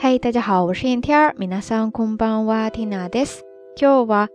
嗨，大家好，我是燕天儿。皆さんこんばんは、ティナです。今日は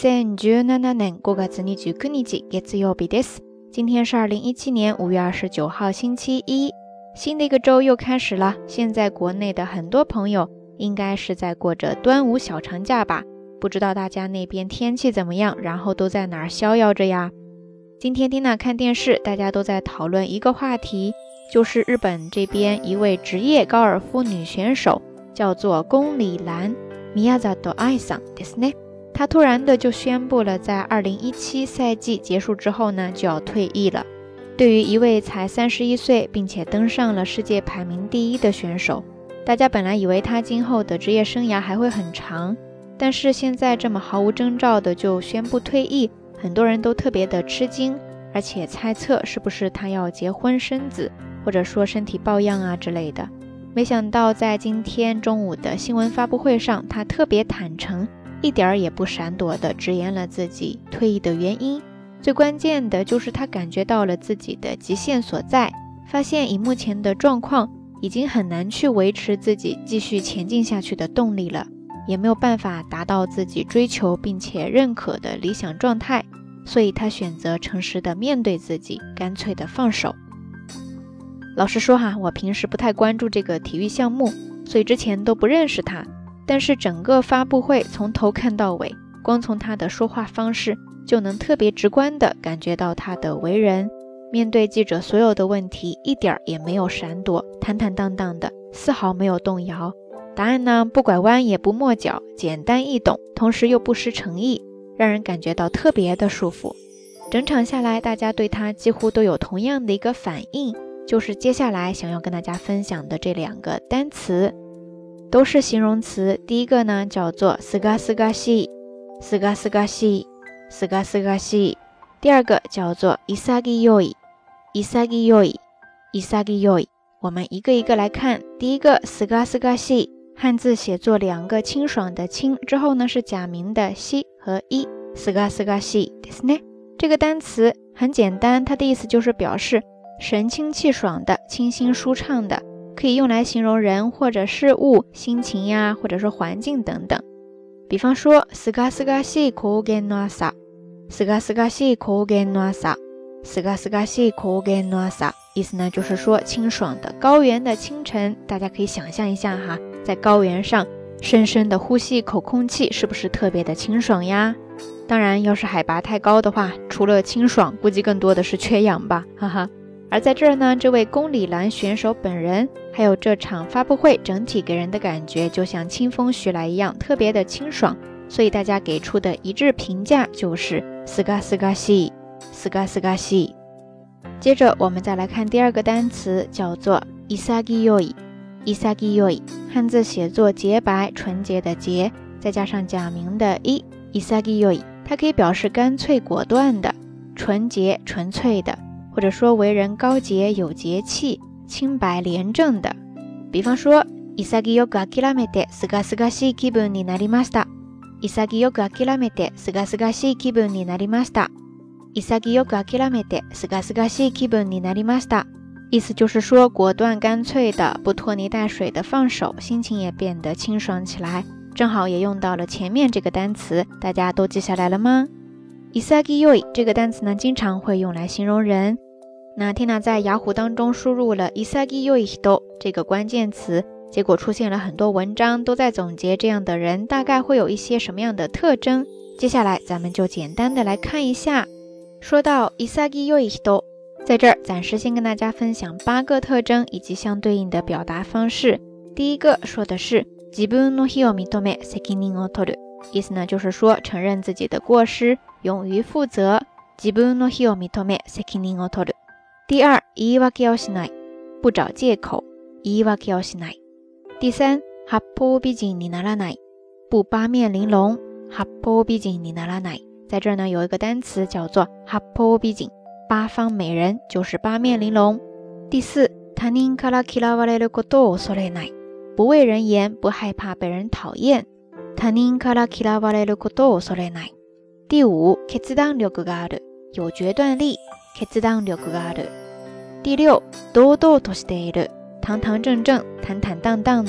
2017年5月29日月曜日です。今天是2017年5月29号星期一，新的一个周又开始了。现在国内的很多朋友应该是在过着端午小长假吧？不知道大家那边天气怎么样，然后都在哪儿逍遥着呀？今天Tina看电视，大家都在讨论一个话题，就是日本这边一位职业高尔夫女选手，叫做宫里蓝，Miyazato Aiさんですね。她突然的就宣布了，在2017赛季结束之后呢，就要退役了。对于一位才31岁，并且登上了世界排名第1的选手，大家本来以为她今后的职业生涯还会很长，但是现在这么毫无征兆的就宣布退役，很多人都特别的吃惊，而且猜测是不是她要结婚生子，或者说身体抱恙啊之类的。没想到在今天中午的新闻发布会上，她特别坦诚，一点儿也不闪躲地直言了自己退役的原因。最关键的就是她感觉到了自己的极限所在，发现以目前的状况已经很难去维持自己继续前进下去的动力了，也没有办法达到自己追求并且认可的理想状态，所以她选择诚实的面对自己，干脆的放手。老实说我平时不太关注这个体育项目，所以之前都不认识他，但是整个发布会从头看到尾，光从他的说话方式就能特别直观地感觉到他的为人，面对记者所有的问题一点也没有闪躲，坦坦荡荡的，丝毫没有动摇。答案呢，不拐弯也不抹角，简单易懂，同时又不失诚意，让人感觉到特别的舒服。整场下来，大家对他几乎都有同样的一个反应，就是接下来想要跟大家分享的这2个单词，都是形容词。第一个呢叫做すがすがしい，すがすがしい，すがすがしい。第二个叫做潔い，潔い，潔い。我们一个一个来看。第一个すがすがしい，汉字写作2个清爽的清，之后呢是假名的西和一，すがすがしいですね。这个单词很简单，它的意思就是表示神清气爽的，清新舒畅的，可以用来形容人或者事物、心情呀，或者是环境等等。比方说すがすがしい高原の朝，すがすがしい高原の朝，すがすがしい高原の朝，意思呢就是说清爽的高原的清晨。大家可以想象一下在高原上深深的呼吸一口空气，是不是特别的清爽呀？当然要是海拔太高的话，除了清爽估计更多的是缺氧吧，哈哈。而在这儿呢，这位宫里蓝选手本人还有这场发布会整体给人的感觉就像清风徐来一样，特别的清爽，所以大家给出的一致评价就是すがすがしい，すがすがしい。接着我们再来看第2个单词，叫做潔い，潔い，汉字写作洁白纯洁的洁，再加上假名的一，潔い，它可以表示干脆果断的，纯洁纯粹的，或者说为人高洁有节气，清白廉政的。比方说潔く諦めてすがすがしい気分になりました。潔く諦めてすがすがしい気分になりました。潔く諦めてすがすがしい気分になりました。意思就是说果断干脆的，不拖泥带水的放手，心情也变得清爽起来。正好也用到了前面这个单词，大家都记下来了吗？潔い这个单词呢，经常会用来形容人。那 Tina 在雅虎当中输入了潔い人这个关键词，结果出现了很多文章都在总结这样的人大概会有一些什么样的特征。接下来咱们就简单的来看一下。说到潔い人，在这儿暂时先跟大家分享8个特征以及相对应的表达方式。第一个说的是自分の非を認め責任を取る，意思呢就是说承认自己的过失，勇于负责。自分の非を認め責任を取る。第二，言い訳をしない，不找借口，言い訳をしない。第三，八方美人にならない，不八面玲珑，八方美人にならない。在这儿呢有一个单词叫做八方美人，八方美人就是八面玲珑。第四，他人から嫌われることを恐れない，不畏人言，不害怕被人讨厌。他人から嫌われることを恐れない。第五，決断力がある，有决断力，決断力がある。第六，堂々としている，堂堂正正，坦坦荡荡的。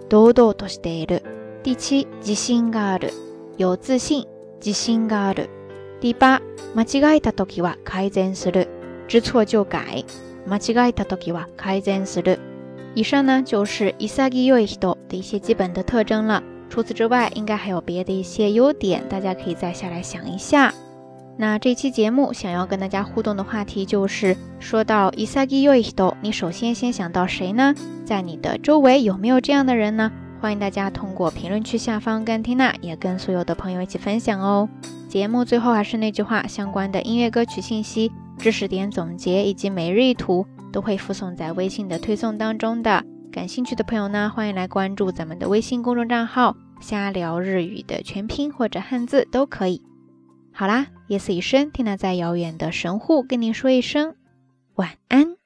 堂々としている。第七、自信がある。有自信、自信がある。第八、間違えたときは改善する。知错就改。間違えたときは改善する。以上呢就是潔い人的一些基本的特征了。除此之外，应该还有别的一些优点，大家可以再下来想一下。那这期节目想要跟大家互动的话题就是，说到潔い人，你首先想到谁呢？在你的周围有没有这样的人呢？欢迎大家通过评论区下方跟缇娜也跟所有的朋友一起分享哦。节目最后还是那句话，相关的音乐歌曲信息、知识点总结以及每日一图都会附送在微信的推送当中的。感兴趣的朋友呢，欢迎来关注咱们的微信公众账号瞎聊日语的全拼或者汉字都可以。好啦，夜色已深，缇娜在遥远的神户跟您说一声晚安。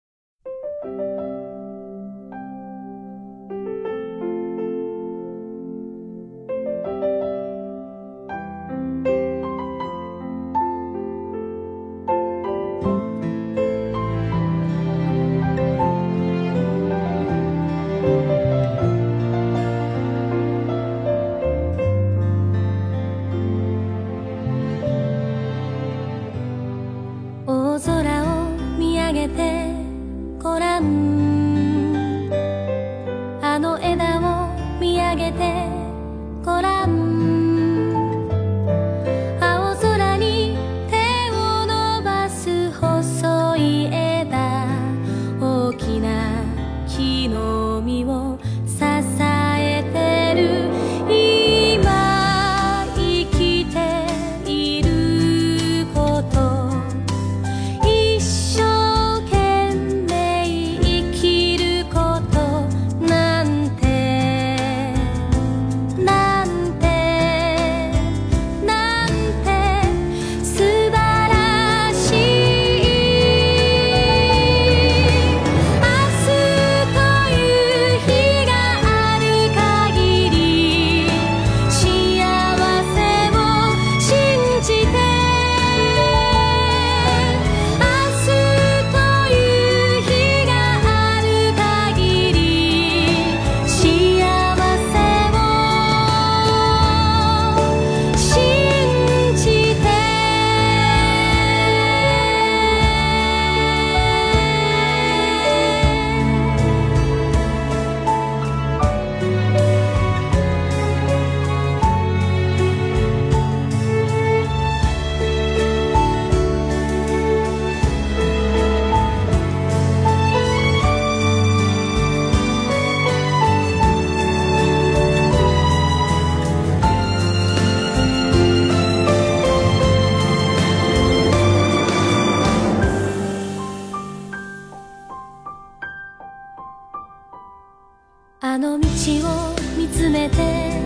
ごらんあの枝を見上げてごらん青空に手を伸ばす細い枝大きな木の実を支えてる今生きていること一生あの道を見つめて